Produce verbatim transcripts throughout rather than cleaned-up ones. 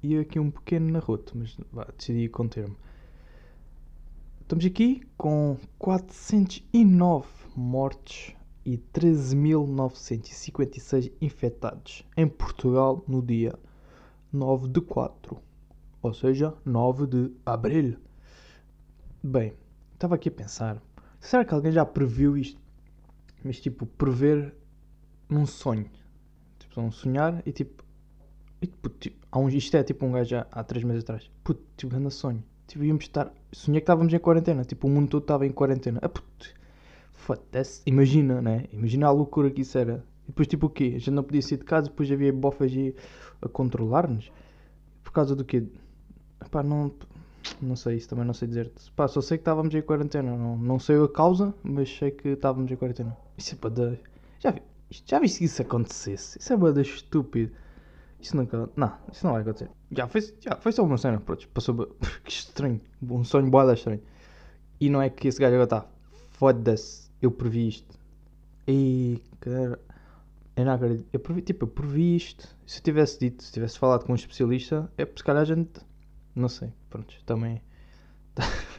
ia aqui um pequeno narroto, mas vá, decidi conter-me. Estamos aqui com quatrocentos e nove mortes e treze mil novecentos e cinquenta e seis infectados em Portugal no dia nove de quatro, ou seja, nove de abril. Bem, estava aqui a pensar, será que alguém já previu isto? Mas tipo, prever num sonho. Tipo, um sonhar e tipo, e, puto, tipo há um, isto é tipo um gajo já há três meses atrás. Puto, tipo, grande sonho. Tipo, íamos estar. Sonhei que estávamos em quarentena. Tipo, o mundo todo estava em quarentena. Ah, puto. Foda-se. Imagina, né? Imagina a loucura que isso era. E depois, tipo, o quê? A gente não podia sair de casa. Depois havia bofas aí a controlar-nos. Por causa do quê? Pá, não. Não sei, isso também não sei dizer-te. Pá, só sei que estávamos em quarentena. Não, não sei a causa, mas sei que estávamos em quarentena. Isso é para dar. Já vi. Já viste que isso acontecesse? Isso é bada estúpido. Isso nunca. Não, isso não vai acontecer. Já foi, já foi só uma cena, pronto. Passou. Que estranho. Um sonho boada estranho. E não é que esse gajo agora está. Foda-se. Eu previ isto. E. Cara. Eu não acredito. Eu previ, tipo, eu previ isto. Se eu tivesse dito, se tivesse falado com um especialista, é porque se calhar a gente. Não sei. Pronto. Também. O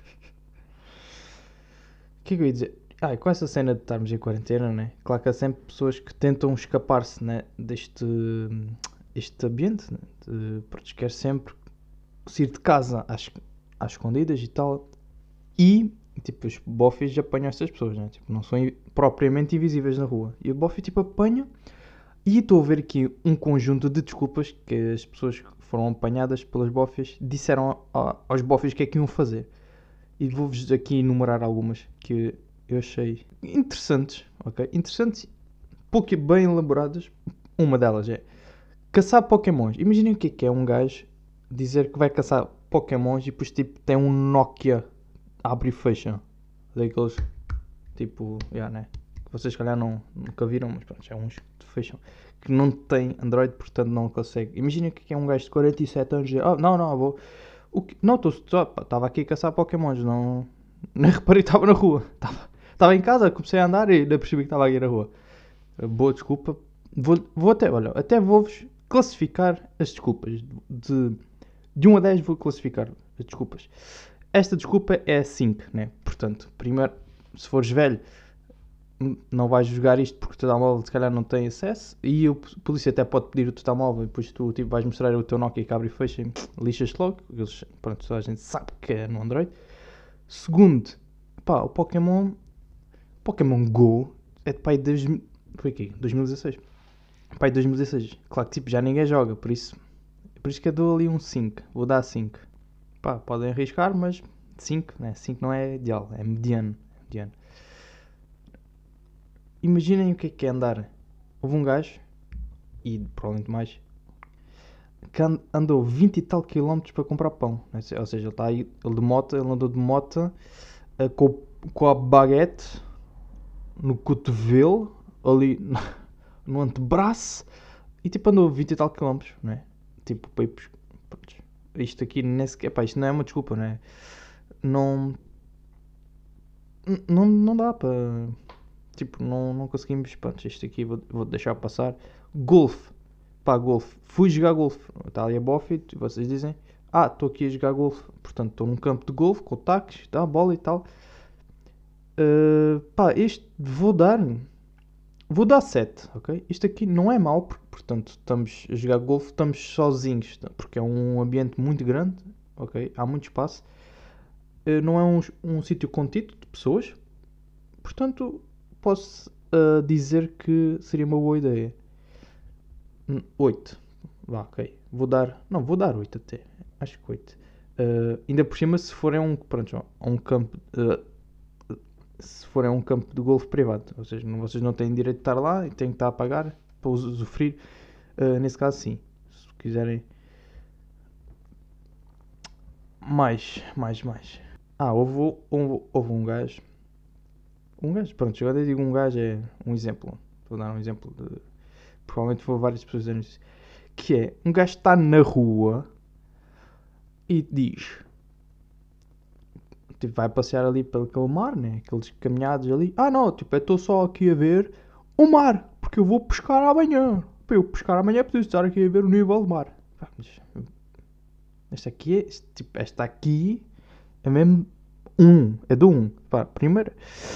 que é que eu ia dizer? Ah, com essa cena de estarmos em quarentena, né? Claro que há sempre pessoas que tentam escapar-se, né? Deste. Este ambiente, né? De, pronto, quer sempre sair de casa às, às escondidas e tal. E, tipo, os bofes apanham estas pessoas, né? Tipo, não são propriamente invisíveis na rua. E o bofe, tipo, apanha. E estou a ver aqui um conjunto de desculpas que as pessoas que foram apanhadas pelas bofes disseram a, aos bofes o que é que iam fazer. E vou-vos aqui enumerar algumas que eu achei interessantes, ok? Interessantes, pouco bem elaboradas. Uma delas é caçar pokémons. Imaginem o que é que é um gajo dizer que vai caçar pokémons e depois tipo tem um Nokia abre e fecha. Daqueles tipo, yeah, né? Que vocês se calhar não, nunca viram, mas pronto, é uns que fecham. Que não tem Android, portanto não consegue. Imaginem o que é um gajo de quarenta e sete anos dizer, oh, não, não, vou. O que... Não, estava aqui a caçar pokémons, não. Nem reparei que estava na rua. Estava em casa, comecei a andar e ainda percebi que estava aqui na rua. Boa desculpa. Vou, vou até, olha, até vou-vos classificar as desculpas. De, de um a dez vou classificar as desculpas. Esta desculpa é cinco, né? Portanto, primeiro, se fores velho, não vais jogar isto porque o teu telemóvel se calhar não tem acesso e o polícia até pode pedir o teu telemóvel e depois tu tipo, vais mostrar o teu Nokia que abre e fecha e lixas-te logo. Eles, pronto, toda a gente sabe que é no Android. Segundo, pá, o Pokémon Pokémon Go é de pai de foi aqui, dois mil e dezasseis. Pai de dois mil e dezasseis. Claro que tipo, já ninguém joga, por isso por isso que eu dou ali um cinco. Vou dar cinco. Pá, podem arriscar, mas cinco, né? cinco não é ideal, é mediano. mediano. Imaginem o que é que é andar. Houve um gajo, e provavelmente mais, que andou vinte e tal quilómetros para comprar pão. Ou seja, ele está aí, ele de moto, ele andou de moto uh, com, com a baguete no cotovelo, ali no antebraço, e tipo andou vinte e tal quilómetros, não é? Tipo, para ir, pronto, isto aqui nem sequer, pá, isto não é uma desculpa, não é? Não, não, não dá para, tipo, não, não conseguimos, pronto, isto aqui vou, vou deixar passar. Golfe, pá, golfe, fui jogar golfe, está ali a bofe e vocês dizem, ah, estou aqui a jogar golfe, portanto estou num campo de golfe com tacos, tá, bola e tal. Uh, pá, este vou dar, vou dar sete, ok? Isto aqui não é mau, porque, portanto, estamos a jogar golfe, estamos sozinhos, porque é um ambiente muito grande, ok? Há muito espaço. Uh, não é um, um sítio contido de pessoas, portanto, posso uh, dizer que seria uma boa ideia. oito. Vá, ok. Vou dar. Não, vou dar oito até. Acho que oito. Uh, ainda por cima, se for a um, pronto, a um campo. Uh, se for a um campo de golfe privado. Ou seja, não, vocês não têm direito de estar lá e têm que estar a pagar para usufruir. Uh, nesse caso, sim. Se quiserem. Mais, mais, mais. Ah, houve, houve, houve um gajo. Um gajo, pronto, agora eu digo um gajo é um exemplo. Vou dar um exemplo de. Provavelmente vou várias pessoas dizendo isso. Que é, um gajo está na rua e diz, tipo, vai passear ali pelo aquele mar, né? Aqueles caminhados ali. Ah não, tipo, eu estou só aqui a ver o mar, porque eu vou pescar amanhã. Para eu pescar amanhã preciso estar aqui a ver o nível do mar. Esta aqui é, este, tipo, esta aqui é mesmo um, é do um. Pá, primeiro,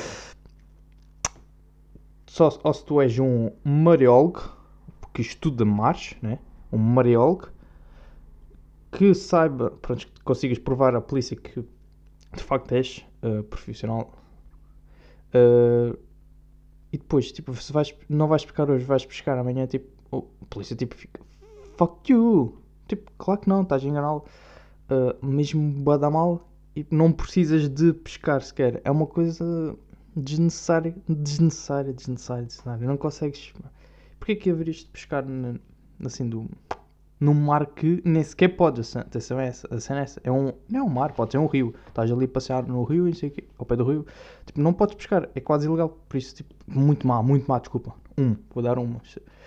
só ou se tu és um mariólogo, que estuda mares, né? Um mariólogo, que saiba, pronto, que consigas provar à polícia que de facto és uh, profissional. Uh, e depois, tipo, se vais, não vais pescar hoje, vais pescar amanhã, tipo, oh, a polícia tipo fica, fuck you. Tipo, claro que não, estás enganado. Uh, mesmo bada mal e não precisas de pescar sequer. É uma coisa desnecessária, desnecessária, desnecessária, desnecessária. Não consegues. Porquê que haverias de pescar na, assim do, num mar que nem sequer podes? Atenção, é essa, a cena é essa. É um, não é um mar, pode ser um rio. Estás ali a passear no rio e não sei o quê, ao pé do rio. Tipo, não podes pescar, é quase ilegal. Por isso, tipo, muito má, muito má, desculpa. Um, vou dar um.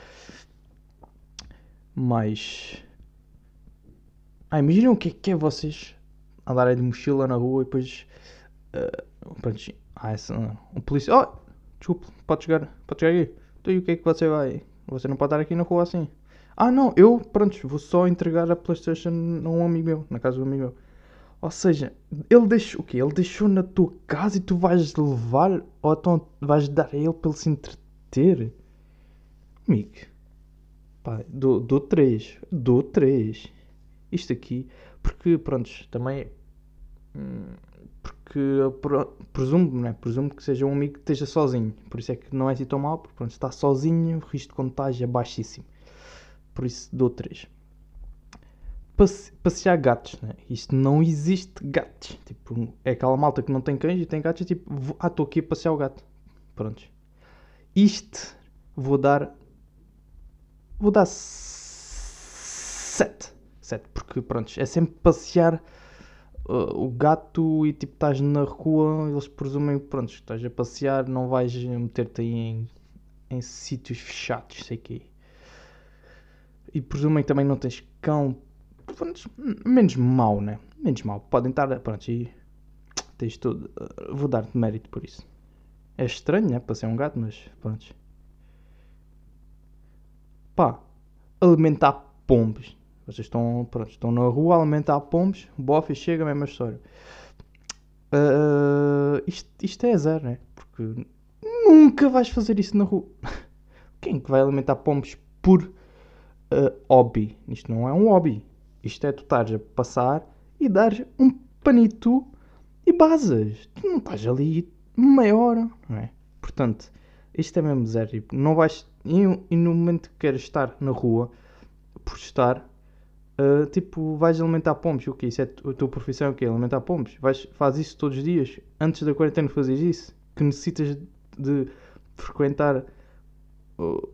Mas. Ah, imaginem o que é que é vocês andarem de mochila na rua e depois. Uh, pronto, ah, essa, uh, um polícia. Oh, desculpe, pode chegar, pode chegar aqui. Então e o que é que você vai? Você não pode estar aqui na rua assim. Ah, não, eu, pronto, vou só entregar a PlayStation a um amigo meu, na casa do amigo meu. Ou seja, ele deixou o quê? Ele deixou na tua casa e tu vais levar ou então vais dar a ele para ele se entreter? Amigo, pá, dou, dou três, dou três. Isto aqui, porque, pronto, também. Hum, porque eu presumo, né? Presumo que seja um amigo que esteja sozinho. Por isso é que não é assim tão mal, porque pronto, está sozinho, o risco de contágio é baixíssimo. Por isso dou três. Passe, passear gatos, né? Isto não existe gatos. Tipo, é aquela malta que não tem cães e tem gatos. É tipo, vou, ah, estou aqui a passear o gato. Pronto. Isto vou dar. Vou dar sete. sete. Porque pronto, é sempre passear uh, o gato e tipo estás na rua, eles presumem que pronto, estás a passear, não vais meter-te aí em, em sítios fechados, sei que. E presumem que também não tens cão. Pronto, menos mau, né? Menos mau. Podem estar. Pronto, e tens tudo. Uh, vou dar-te mérito por isso. É estranho, né? Para ser um gato, mas pronto. Pá, alimentar pombos. Vocês estão, pronto, estão na rua a alimentar pombos. O bofe chega, a mesma história. Uh, isto, isto é zero, né? Porque nunca vais fazer isso na rua. Quem que vai alimentar pombos por uh, hobby? Isto não é um hobby. Isto é tu estares a passar e dares um panito e basas. Tu não estás ali meia hora, não é? Portanto, isto é mesmo zero. Não vais, e, e no momento que queres estar na rua, por estar, Uh, tipo, vais alimentar pombos, o que? Isso é a tua profissão, o quê? Alimentar pombos? Vais, fazes isso todos os dias? Antes da quarentena fazes isso? Que necessitas de frequentar uh,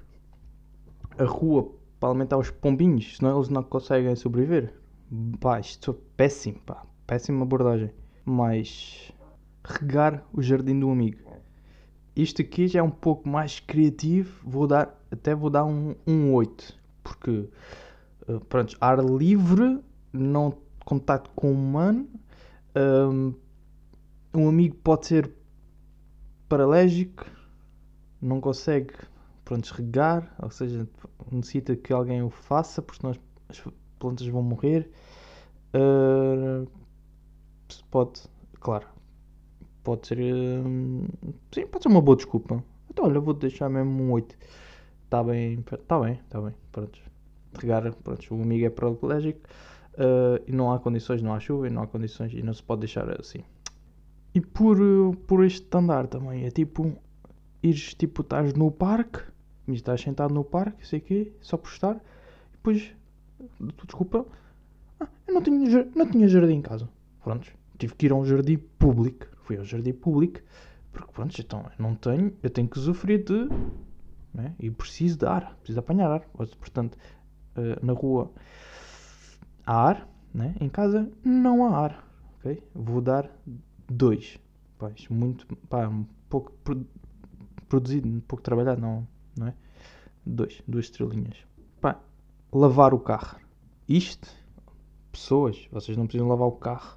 a rua para alimentar os pombinhos, senão eles não conseguem sobreviver? Pá, isto é péssimo, pá, péssima abordagem. Mas regar o jardim do amigo. Isto aqui já é um pouco mais criativo, vou dar, até vou dar um, um oito, porque Uh, pronto, ar livre, não contato com o humano. Um, um amigo pode ser paralítico, não consegue, pronto, regar, ou seja, necessita que alguém o faça, porque senão as plantas vão morrer. Uh, pode, claro, pode ser, uh, sim, pode ser uma boa desculpa. Então, olha, vou deixar mesmo um oito. Está bem, está bem, está bem, pronto. Regar, pronto, o amigo é paraplégico uh, e não há condições, não há chuva e não há condições e não se pode deixar assim. E por, por este andar também, é tipo, ires, tipo, estás no parque, estás sentado no parque, sei o quê, só por estar, e depois, desculpa, ah, eu não tinha, não tinha jardim em casa, pronto, tive que ir a um jardim público, fui ao jardim público, porque pronto, então, eu não tenho, eu tenho que sofrer de, né, e preciso de ar, preciso de apanhar ar, portanto, Uh, na rua há ar, né? Em casa não há ar, ok? Vou dar dois. Pá, isto muito, pá, um pouco pro, produzido, um pouco trabalhado, não, não é? Dois, duas estrelinhas. Pá, lavar o carro. Isto, pessoas, vocês não precisam lavar o carro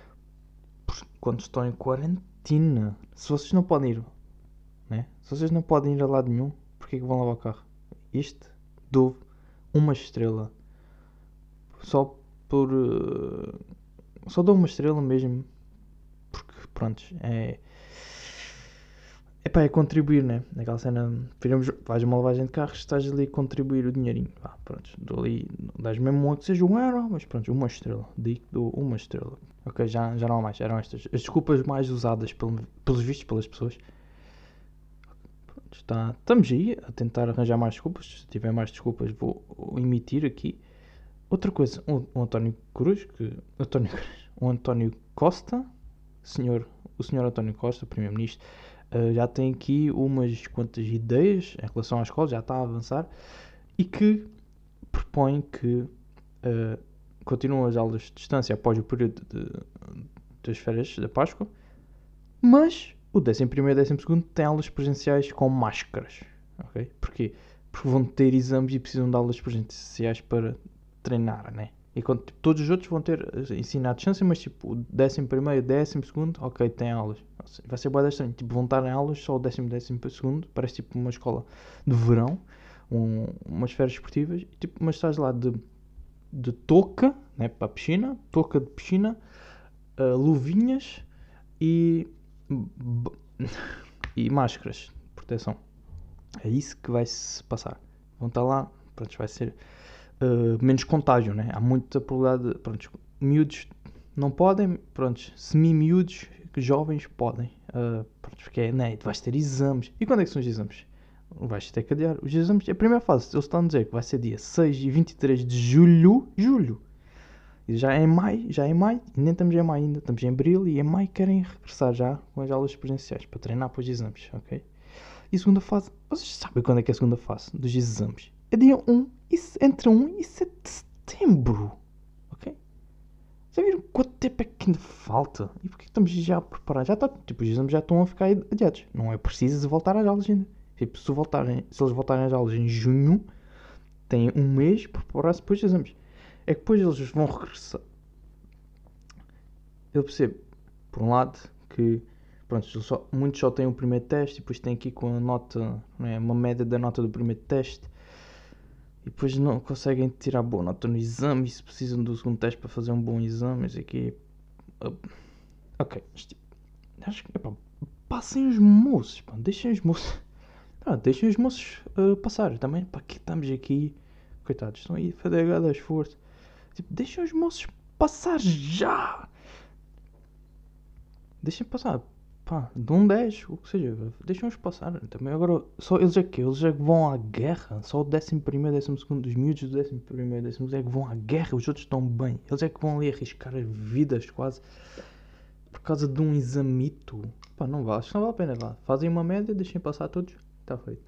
quando estão em quarentena. Se vocês não podem ir, né? Se vocês não podem ir a lado nenhum, porquê que vão lavar o carro? Isto, dou uma estrela. Só por... Uh, só dou uma estrela mesmo. Porque, pronto, é... Epá, é contribuir, né? Naquela cena, viramos, vais uma lavagem de carros, estás ali a contribuir o dinheirinho. Vá, pronto, dou ali, dás mesmo um que seja um euro, mas pronto, uma estrela. Digo, dou uma estrela. Ok, já, já não há mais, eram estas. As desculpas mais usadas pelo, pelos vistos pelas pessoas. Pronto, está, estamos aí a tentar arranjar mais desculpas. Se tiver mais desculpas, vou emitir aqui. Outra coisa, o, o António Cruz, que. António Cruz, o António Costa, senhor, o senhor António Costa, primeiro-ministro. Uh, já tem aqui umas quantas ideias em relação à escola, já está a avançar, e que propõe que uh, continuam as aulas de distância após o período de, das férias da Páscoa, mas o décimo primeiro e décimo segundo têm aulas presenciais com máscaras. Okay? Porquê? Porque vão ter exames e precisam de aulas presenciais para treinar, né? E quando, tipo, todos os outros vão ter ensino à distância, mas tipo, o décimo primeiro e décimo segundo, ok, tem aulas. Vai ser bué estranho. Tipo, vão estar em aulas só o décimo e décimo segundo, parece tipo uma escola de verão, um, umas férias esportivas, tipo, mas estás lá de, de touca, né, para a piscina, touca de piscina, uh, luvinhas e, e máscaras de proteção. É isso que vai se passar. Vão estar lá, pronto, vai ser... Uh, menos contágio, né? Há muita probabilidade de, pronto, miúdos não podem, pronto, semi-miúdos, jovens podem, uh, pronto, porque é, né? Vais ter exames. E quando é que são os exames? Vais ter que adiar. Os exames, a primeira fase, eles estão a dizer que vai ser dia seis e vinte e três de julho, julho. E já é em maio, já é em maio, e nem estamos em maio ainda, estamos em abril e em maio querem regressar já com as aulas presenciais para treinar para os exames, ok? E a segunda fase, vocês sabem quando é que é a segunda fase dos exames? É dia um, entre um e sete de setembro. Ok? Já viram quanto tempo é que ainda falta? E porquê estamos já a preparar? Já está, tipo, os exames já estão a ficar adiados. Não é preciso voltar às aulas ainda. Tipo, se, voltarem, se eles voltarem às aulas em junho, têm um mês para preparar-se depois dos exames. É que depois eles vão regressar. Eu percebo, por um lado, que pronto, só, muitos só têm o primeiro teste e depois têm aqui com a nota, não é, uma média da nota do primeiro teste. E depois não conseguem tirar boa nota no exame e se precisam do segundo teste para fazer um bom exame, isso aqui... Uh, ok, tipo, acho que, epá, passem os moços, pá, deixem os moços... Pá, deixem os moços uh, passar também, para que estamos aqui... Coitados, estão aí a fazer cada esforço. Tipo, deixem os moços passar já! Deixem passar, pá, de um dez, o que seja, deixem-os passar. Também agora, só eles é que eles é que vão à guerra. Só o décimo primeiro e décimo segundo, os miúdos do décimo primeiro e décimo segundo é que vão à guerra. Os outros estão bem. Eles é que vão ali arriscar as vidas quase por causa de um examito. Pá, não vale, acho que não vale a pena. Vá. Fazem uma média, deixem passar todos. Está feito.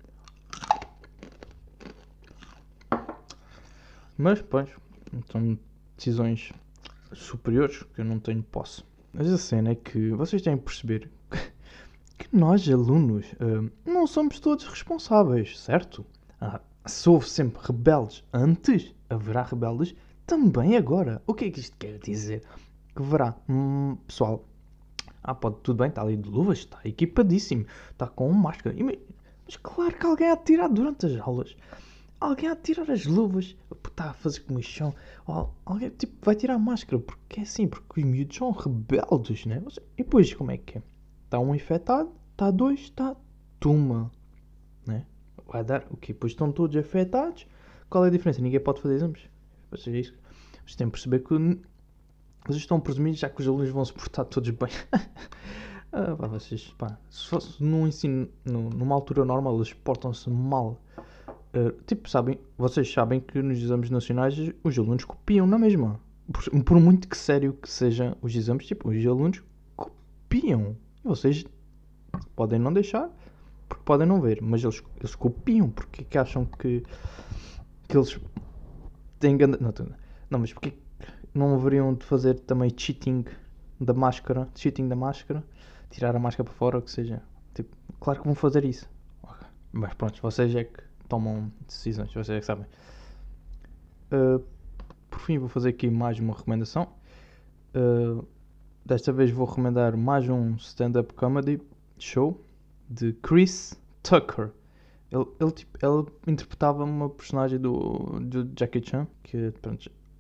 Mas, pois, são decisões superiores que eu não tenho posse. Mas a cena é que vocês têm que perceber que nós, alunos, uh, não somos todos responsáveis, certo? Ah, se houve sempre rebeldes antes, haverá rebeldes também agora. O que é que isto quer dizer? Que haverá hum, pessoal, ah, pode, tudo bem, está ali de luvas, está equipadíssimo, está com máscara, mas claro que alguém há de tirar durante as aulas. Alguém há de tirar as luvas, está a fazer comichão, alguém tipo, vai tirar a máscara, porque é assim, porque os miúdos são rebeldes, né? E depois como é que é? Está um infectado, está dois, está tuma, né? Vai dar o quê? Depois estão todos afetados, qual é a diferença? Ninguém pode fazer exames. Ou seja, isso, vocês têm que perceber que vocês estão presumindo já que os alunos vão se portar todos bem. ah, pá, vocês, pá, se fosse num ensino, numa altura normal, eles portam-se mal. Uh, tipo, sabem, vocês sabem que nos exames nacionais os alunos copiam na mesma. Por, por muito que sério que sejam os exames, tipo, os alunos copiam. E vocês podem não deixar, porque podem não ver, mas eles, eles copiam, porque é que acham que, que eles têm... Não, não, mas porque não haveriam de fazer também cheating da máscara, cheating da máscara, tirar a máscara para fora, ou que seja. Tipo, claro que vão fazer isso. Mas pronto, vocês é que tomam decisões, vocês é que sabem. Uh, por fim, vou fazer aqui mais uma recomendação. Uh, desta vez vou recomendar mais um stand-up comedy show de Chris Tucker. Ele, ele, tipo, ele interpretava uma personagem do, do Jackie Chan, que pronto,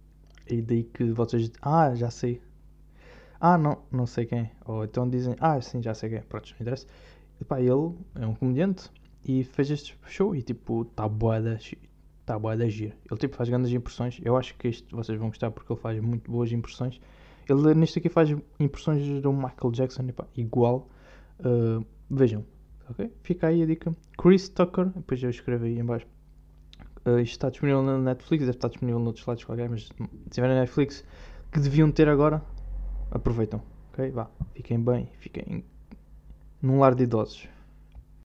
E daí que vocês. Ah, já sei. Ah, não, não sei quem. Ou então dizem. Ah, sim, já sei quem. Pronto, não interessa. E pá, ele é um comediante e fez este show e tipo, está bué da. Está bué da giro. Ele tipo faz grandes impressões. Eu acho que isto vocês vão gostar porque ele faz muito boas impressões. Ele neste aqui faz impressões do Michael Jackson, epá, igual. Uh, vejam, ok? Fica aí a dica. Chris Tucker, depois eu escrevo aí em baixo. Uh, isto está disponível na Netflix, deve estar disponível noutros lados qualquer, mas se tiver na Netflix, que deviam ter agora, aproveitam, ok? Vá, fiquem bem, fiquem num lar de idosos.